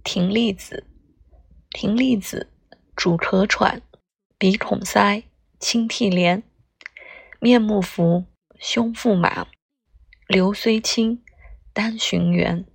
葶苈子。葶苈子主咳喘、鼻孔塞、清涕连，面目浮，胸腹麻，流虽清，丹循圆。